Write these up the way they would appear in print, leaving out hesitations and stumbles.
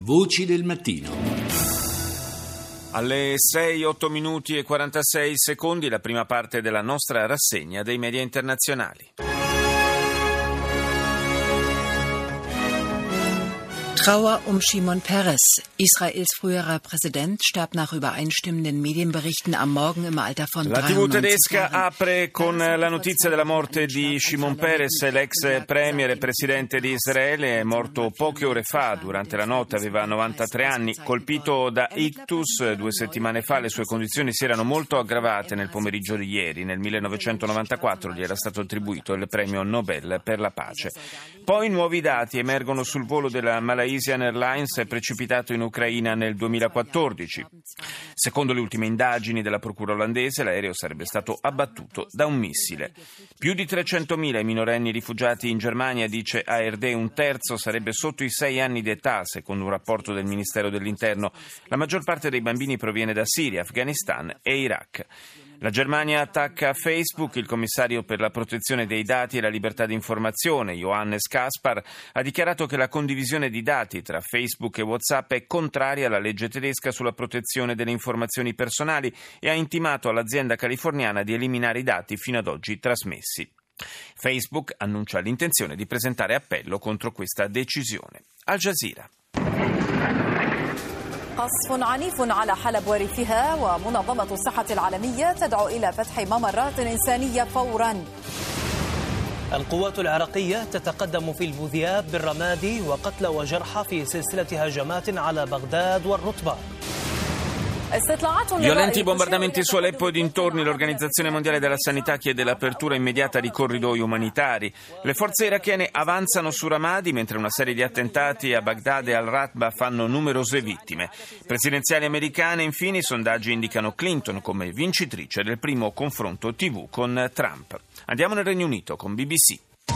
Voci del mattino. Alle 6, 8 minuti e 46 secondi la prima parte della nostra rassegna dei media internazionali. Trauer um Shimon Peres. Israels früherer Präsident starb nach übereinstimmenden Medienberichten am Morgen im Alter von 93 La TV tedesca apre con la notizia della morte di Shimon Peres, l'ex premier e presidente di Israele. È morto poche ore fa, durante la notte, aveva 93 anni. Colpito da ictus 2 settimane fa, le sue condizioni si erano molto aggravate nel pomeriggio di ieri. Nel 1994 gli era stato attribuito il premio Nobel per la pace. Poi nuovi dati emergono sul volo della Malaysian Airlines precipitato in Ucraina nel 2014. Secondo le ultime indagini della procura olandese, l'aereo sarebbe stato abbattuto da un missile. Più di 300.000 i minorenni rifugiati in Germania, dice ARD, un terzo sarebbe sotto i 6 anni d'età, secondo un rapporto del Ministero dell'Interno. La maggior parte dei bambini proviene da Siria, Afghanistan e Iraq. La Germania attacca Facebook. Il commissario per la protezione dei dati e la libertà di informazione, Johannes Kaspar, ha dichiarato che la condivisione di dati tra Facebook e WhatsApp è contraria alla legge tedesca sulla protezione delle informazioni personali e ha intimato all'azienda californiana di eliminare i dati fino ad oggi trasmessi. Facebook annuncia l'intenzione di presentare appello contro questa decisione. Al Jazeera. قصف عنيف على حلب وريفها ومنظمة الصحة العالمية تدعو إلى فتح ممرات إنسانية فوراً. القوات العراقية تتقدم في البوذياب بالرمادي وقتلى وجرحى في سلسلة هجمات على بغداد والرطبة. Violenti bombardamenti su Aleppo e dintorni. L'Organizzazione Mondiale della Sanità chiede l'apertura immediata di corridoi umanitari. Le forze irachene avanzano su Ramadi mentre una serie di attentati a Baghdad e al-Ratba fanno numerose vittime. Presidenziali americane, infine, i sondaggi indicano Clinton come vincitrice del primo confronto TV con Trump. Andiamo nel Regno Unito con BBC.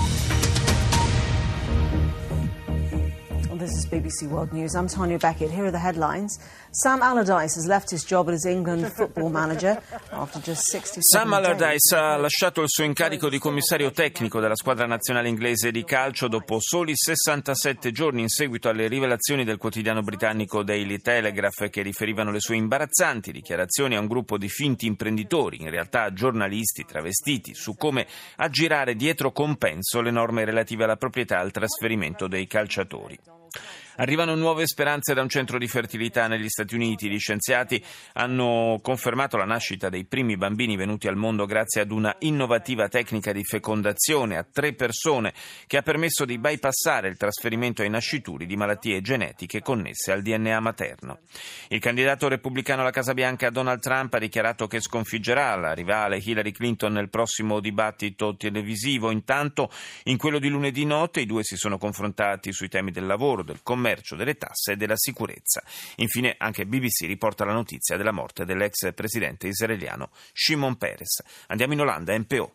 This is BBC World News. I'm Tanya Beckett. Here are the headlines. Sam Allardyce has left his job as England football manager after just 67 Sam Allardyce ha lasciato il suo incarico di commissario tecnico della squadra nazionale inglese di calcio dopo soli 67 giorni in seguito alle rivelazioni del quotidiano britannico Daily Telegraph che riferivano le sue imbarazzanti dichiarazioni a un gruppo di finti imprenditori, in realtà giornalisti travestiti, su come aggirare dietro compenso le norme relative alla proprietà e al trasferimento dei calciatori. Arrivano nuove speranze da un centro di fertilità negli Stati Uniti. Gli scienziati hanno confermato la nascita dei primi bambini venuti al mondo grazie ad una innovativa tecnica di fecondazione a 3 persone che ha permesso di bypassare il trasferimento ai nascituri di malattie genetiche connesse al DNA materno. Il candidato repubblicano alla Casa Bianca Donald Trump ha dichiarato che sconfiggerà la rivale Hillary Clinton nel prossimo dibattito televisivo. Intanto, in quello di lunedì notte, i due si sono confrontati sui temi del lavoro, del commercio, delle tasse e della sicurezza. Infine anche BBC riporta la notizia della morte dell'ex presidente israeliano Shimon Peres. Andiamo in Olanda, NPO.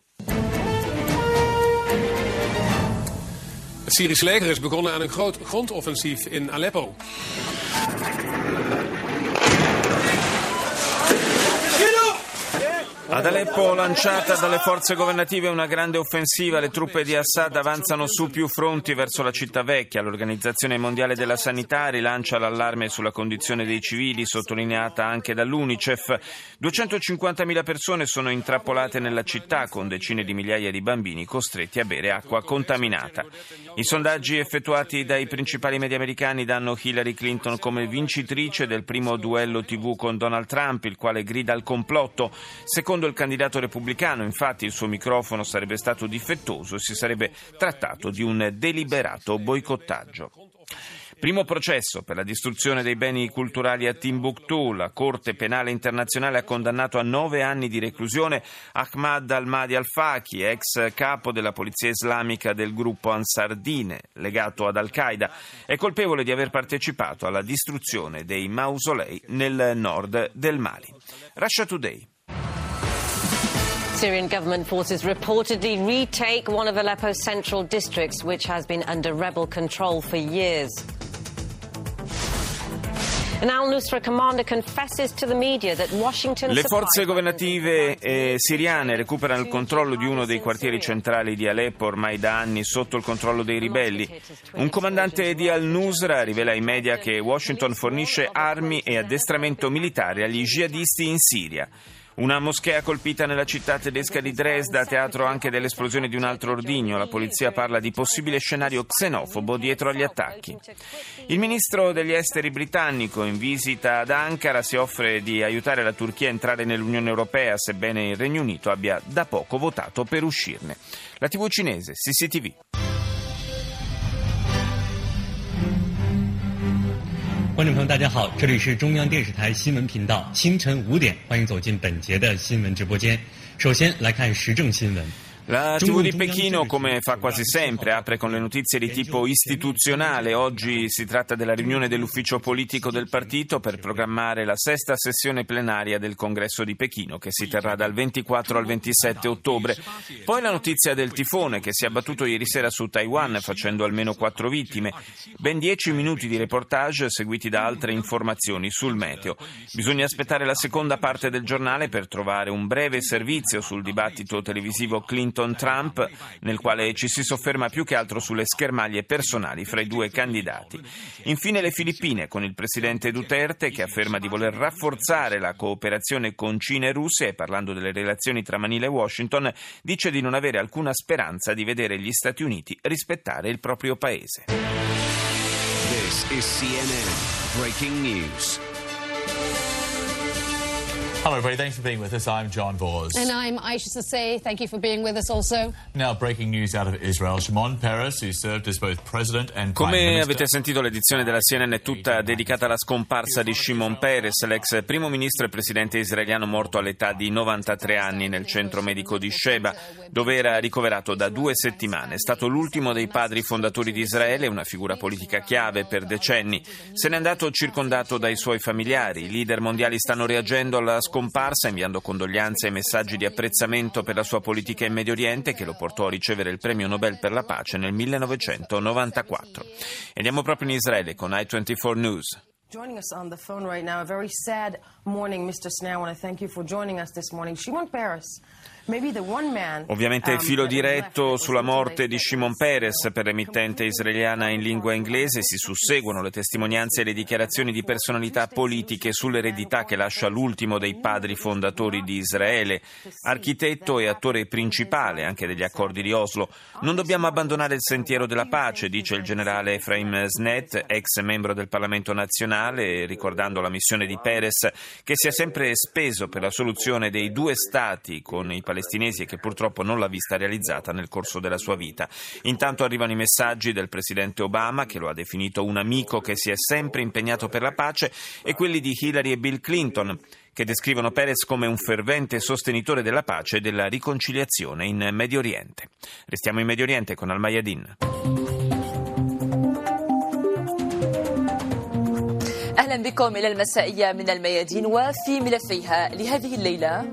Het Syrische leger is begonnen aan een groot grondoffensief in Aleppo. Ad Aleppo, lanciata dalle forze governative una grande offensiva, le truppe di Assad avanzano su più fronti verso la città vecchia. L'Organizzazione Mondiale della Sanità rilancia l'allarme sulla condizione dei civili, sottolineata anche dall'UNICEF. 250.000 persone sono intrappolate nella città, con decine di migliaia di bambini costretti a bere acqua contaminata. I sondaggi effettuati dai principali media americani danno Hillary Clinton come vincitrice del primo duello TV con Donald Trump, il quale grida al complotto. Secondo il candidato repubblicano, infatti, il suo microfono sarebbe stato difettoso e si sarebbe trattato di un deliberato boicottaggio. Primo processo per la distruzione dei beni culturali a Timbuktu. La Corte Penale Internazionale ha condannato a 9 anni di reclusione Ahmad al-Mahdi al-Faqi, ex capo della polizia islamica del gruppo Ansar Dine, legato ad Al-Qaeda. È colpevole di aver partecipato alla distruzione dei mausolei nel nord del Mali. Russia Today. Syrian government forces reportedly retake one of Aleppo's central districts, which has been under rebel control for years. An al-Nusra commander confesses to the media that Washington Le forze governative siriane recuperano il controllo di uno dei quartieri centrali di Aleppo, ormai da anni sotto il controllo dei ribelli. Un comandante di al-Nusra rivela ai media che Washington fornisce armi e addestramento militare agli jihadisti in Siria. Una moschea colpita nella città tedesca di Dresda, teatro anche dell'esplosione di un altro ordigno. La polizia parla di possibile scenario xenofobo dietro agli attacchi. Il ministro degli esteri britannico in visita ad Ankara si offre di aiutare la Turchia a entrare nell'Unione Europea, sebbene il Regno Unito abbia da poco votato per uscirne. La TV cinese, CCTV. 观众朋友大家好，这里是中央电视台新闻频道，清晨5点，欢迎走进本节的新闻直播间。首先来看时政新闻。 La TV di Pechino, come fa quasi sempre, apre con le notizie di tipo istituzionale. Oggi si tratta della riunione dell'ufficio politico del partito per programmare la sesta sessione plenaria del Congresso di Pechino, che si terrà dal 24 al 27 ottobre. Poi la notizia del tifone che si è abbattuto ieri sera su Taiwan, facendo almeno 4 vittime. Ben 10 minuti di reportage seguiti da altre informazioni sul meteo. Bisogna aspettare la seconda parte del giornale per trovare un breve servizio sul dibattito televisivo Clinton-Trump, nel quale ci si sofferma più che altro sulle schermaglie personali fra i due candidati. Infine le Filippine, con il presidente Duterte che afferma di voler rafforzare la cooperazione con Cina e Russia e, parlando delle relazioni tra Manila e Washington, dice di non avere alcuna speranza di vedere gli Stati Uniti rispettare il proprio paese. This is CNN Breaking News. Hello everybody, thanks for being with us. I'm John Vors. And I'm Aisha Sasay. Thank you for being with us also. Now breaking news out of Israel. Shimon Peres, who served as both president and prime Come minister. avete sentito, l'edizione della CNN è tutta dedicata alla scomparsa di Shimon Peres, l'ex primo ministro e presidente israeliano morto all'età di 93 anni nel centro medico di Sheba, dove era ricoverato da 2 settimane. È stato l'ultimo dei padri fondatori di Israele, una figura politica chiave per decenni. Se n'è andato circondato dai suoi familiari. I leader mondiali stanno reagendo alla scomparsa, inviando condoglianze e messaggi di apprezzamento per la sua politica in Medio Oriente, che lo portò a ricevere il premio Nobel per la pace nel 1994. E andiamo proprio in Israele con I24 News. Joining us on the phone right now, a very sad morning, Mr. Snare. I want to thank you for joining us this morning. Shimon Peres. Ovviamente filo diretto sulla morte di Shimon Peres per l'emittente israeliana in lingua inglese. Si susseguono le testimonianze e le dichiarazioni di personalità politiche sull'eredità che lascia l'ultimo dei padri fondatori di Israele, architetto e attore principale anche degli accordi di Oslo. Non dobbiamo abbandonare il sentiero della pace, dice il generale Efraim Snet, ex membro del Parlamento nazionale, ricordando la missione di Peres, che si è sempre speso per la soluzione dei 2 stati con i palestinesi e che purtroppo non l'ha vista realizzata nel corso della sua vita. Intanto arrivano i messaggi del presidente Obama, che lo ha definito un amico che si è sempre impegnato per la pace, e quelli di Hillary e Bill Clinton, che descrivono Peres come un fervente sostenitore della pace e della riconciliazione in Medio Oriente. Restiamo in Medio Oriente con Al-Mayadin. أهلا بكم إلى المسائية من الميادين وفي ملفيها لهذه الليلة.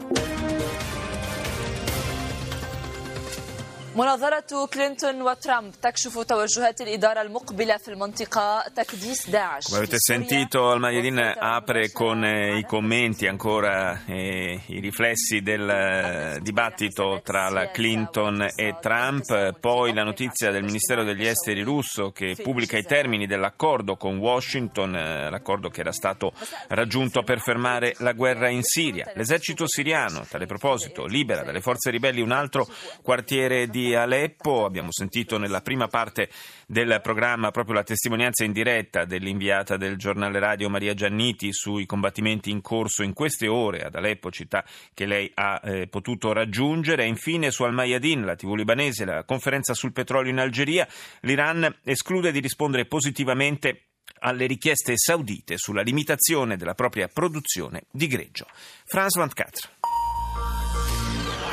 مناظرة كلينتون وترامب تكشف توجهات الإدارة المقبلة في المنطقة تكديس داعش. Come avete sentito, Al-Mayadin apre con i commenti ancora i riflessi del dibattito tra la Clinton e Trump, poi la notizia del Ministero degli Esteri russo che pubblica i termini dell'accordo con Washington, l'accordo che era stato raggiunto per fermare la guerra in Siria. L'esercito siriano, a tale proposito, libera dalle forze ribelli un altro quartiere di Aleppo. Abbiamo sentito nella prima parte del programma proprio la testimonianza in diretta dell'inviata del giornale radio Maria Gianniti sui combattimenti in corso in queste ore ad Aleppo, città che lei ha potuto raggiungere. E infine su Al-Mayadin, la TV libanese, la conferenza sul petrolio in Algeria. L'Iran esclude di rispondere positivamente alle richieste saudite sulla limitazione della propria produzione di greggio. France 24.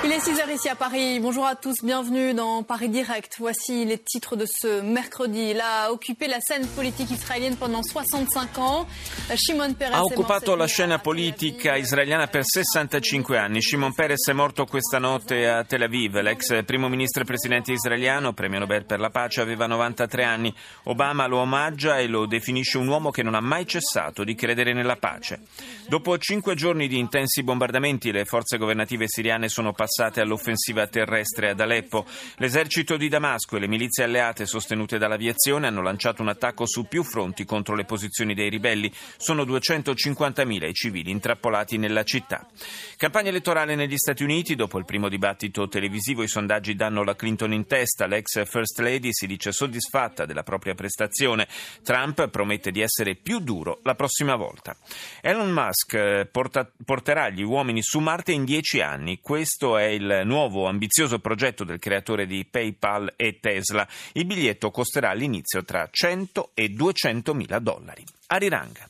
Il est 6h ici à Paris. Bonjour à tous, bienvenue dans Paris Direct. Voici les titres de ce mercredi. Il a occupé la scène politique israélienne pendant 65 ans. Shimon Peres ha occupato la scena politica israeliana per 65 anni. Shimon Peres è morto questa notte a Tel Aviv. L'ex primo ministro e presidente israeliano, premio Nobel per la pace, aveva 93 anni. Obama lo omaggia e lo definisce un uomo che non ha mai cessato di credere nella pace. Dopo 5 giorni di intensi bombardamenti, le forze governative siriane sono passate all'offensiva terrestre ad Aleppo. L'esercito di Damasco e le milizie alleate sostenute dall'aviazione hanno lanciato un attacco su più fronti contro le posizioni dei ribelli. Sono 250.000 i civili intrappolati nella città. Campagna elettorale negli Stati Uniti. Dopo il primo dibattito televisivo, i sondaggi danno la Clinton in testa. L'ex First Lady si dice soddisfatta della propria prestazione. Trump promette di essere più duro la prossima volta. Elon Musk porterà gli uomini su Marte in 10 anni. Questo è il nuovo ambizioso progetto del creatore di PayPal e Tesla. Il biglietto costerà all'inizio tra $100 e $200.000. Ariranga.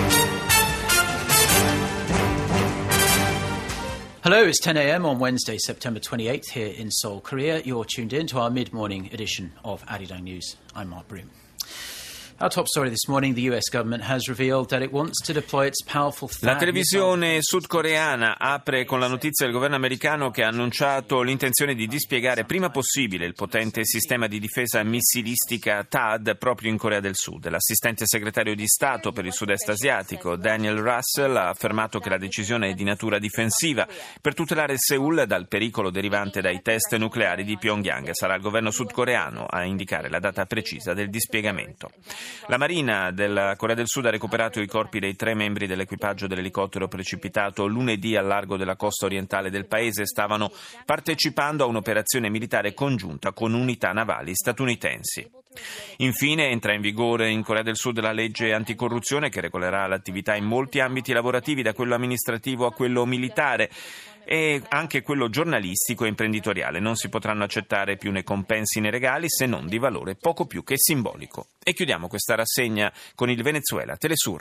Hello, it's 10 a.m. on Wednesday, September 28th here in Seoul, Korea. You're tuned in to our mid-morning edition of Arirang News. I'm Mark Broom. Our top story this morning, the US government has revealed that it wants to deploy its powerful La televisione sudcoreana apre con la notizia del governo americano che ha annunciato l'intenzione di dispiegare prima possibile il potente sistema di difesa missilistica THAAD proprio in Corea del Sud. L'assistente segretario di Stato per il sud-est asiatico, Daniel Russell, ha affermato che la decisione è di natura difensiva per tutelare Seoul dal pericolo derivante dai test nucleari di Pyongyang. Sarà il governo sudcoreano a indicare la data precisa del dispiegamento. La Marina della Corea del Sud ha recuperato i corpi dei 3 membri dell'equipaggio dell'elicottero precipitato lunedì al largo della costa orientale del paese. Stavano partecipando a un'operazione militare congiunta con unità navali statunitensi. Infine entra in vigore in Corea del Sud la legge anticorruzione che regolerà l'attività in molti ambiti lavorativi, da quello amministrativo a quello militare e anche quello giornalistico e imprenditoriale. Non si potranno accettare più né compensi né regali se non di valore poco più che simbolico. E chiudiamo questa rassegna con il Venezuela, Telesur.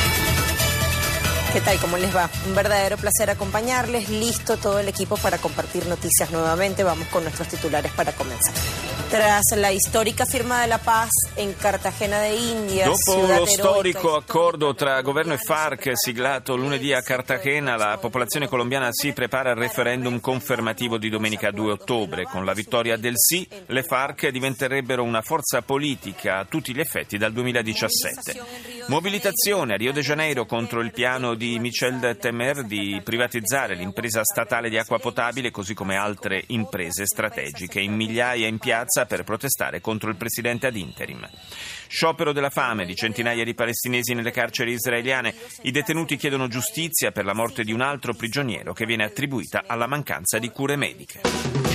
¿Qué tal? ¿Cómo les va? Un verdadero placer acompañarles. Listo todo el equipo para compartir noticias nuevamente. Vamos con nuestros titulares para comenzar. Tras la histórica firma de la paz en Cartagena de Indias, dopo lo storico accordo tra governo e FARC siglato lunedì a Cartagena, la popolazione colombiana si prepara al referendum confermativo di domenica 2 ottobre. Con la vittoria del sì, le FARC diventerebbero una forza politica a tutti gli effetti dal 2017. Mobilitazione a Rio de Janeiro contro il piano di Michel Temer di privatizzare l'impresa statale di acqua potabile, così come altre imprese strategiche. In migliaia in piazza per protestare contro il presidente ad interim. Sciopero della fame di centinaia di palestinesi nelle carceri israeliane. I detenuti chiedono giustizia per la morte di un altro prigioniero che viene attribuita alla mancanza di cure mediche.